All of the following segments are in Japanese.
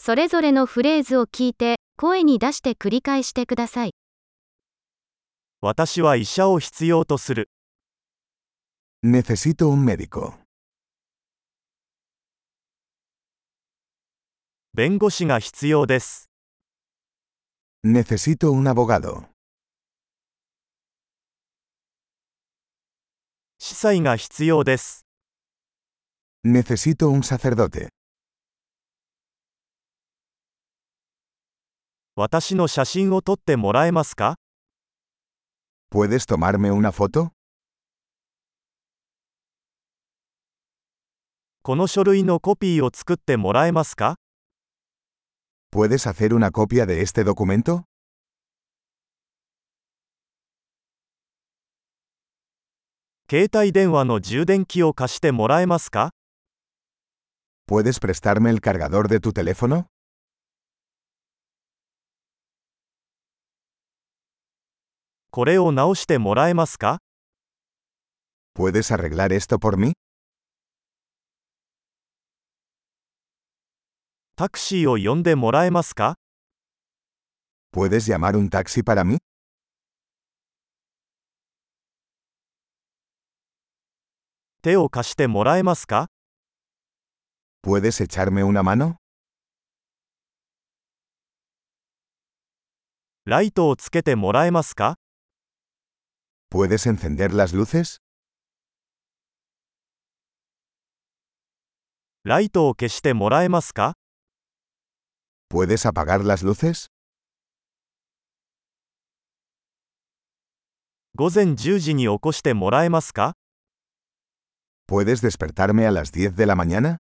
それぞれのフレーズを聞いて、声に出して繰り返してください。 私は医者を必要とする。 Necesito un médico. 弁護士が必要です。 Necesito un abogado. 司祭が必要です。 Necesito un sacerdote. 私の写真を撮ってもらえますか？ ¿Puedes tomarme una foto? この書類のコピーを作ってもらえますか？ ¿Puedes hacer una copia de este documento? 携帯電話の充電器を貸してもらえますか？ ¿Puedes prestarme el cargador de tu teléfono? これを直してもらえますか？ ¿Puedes arreglar esto por mí? タクシーを呼んでもらえますか？ ¿Puedes llamar un taxi para mí? 手を貸してもらえますか？ ¿Puedes echarme una mano? ライトをつけてもらえますか？ ¿Puedes encender las luces? ライトを消してもらえますか？ ¿Puedes apagar las luces? 午前10時に起こしてもらえますか？ ¿Puedes despertarme a las 10 de la mañana?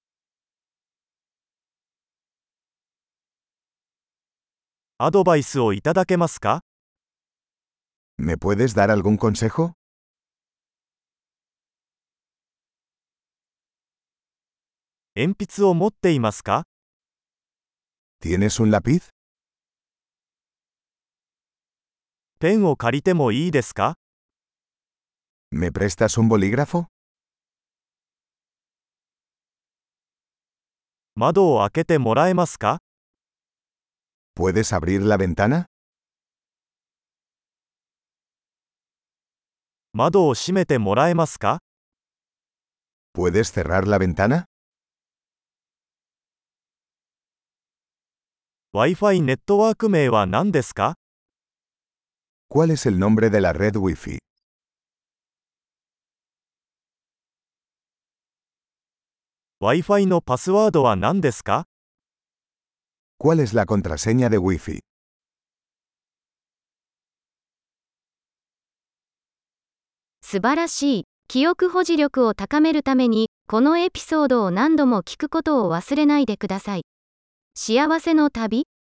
アドバイスをいただけますか？ ¿Me puedes dar algún consejo? 鉛筆を持っていますか？ ¿Tienes un lápiz? ペンを借りてもいいですか？ ¿Me prestas un bolígrafo? 窓を開けてもらえますか？ ¿Puedes abrir la ventana? 窓を閉めてもらえますか？ ¿Puedes cerrar la ventana? Wi-Fi ネットワーク名は何ですか？ ¿Cuál es el nombre de la red Wi-Fi? Wi-Fi のパスワードは何ですか？ ¿Cuál es la contraseña de Wi-Fi? 素晴らしい。記憶保持力を高めるために、このエピソードを何度も聞くことを忘れないでください。幸せの旅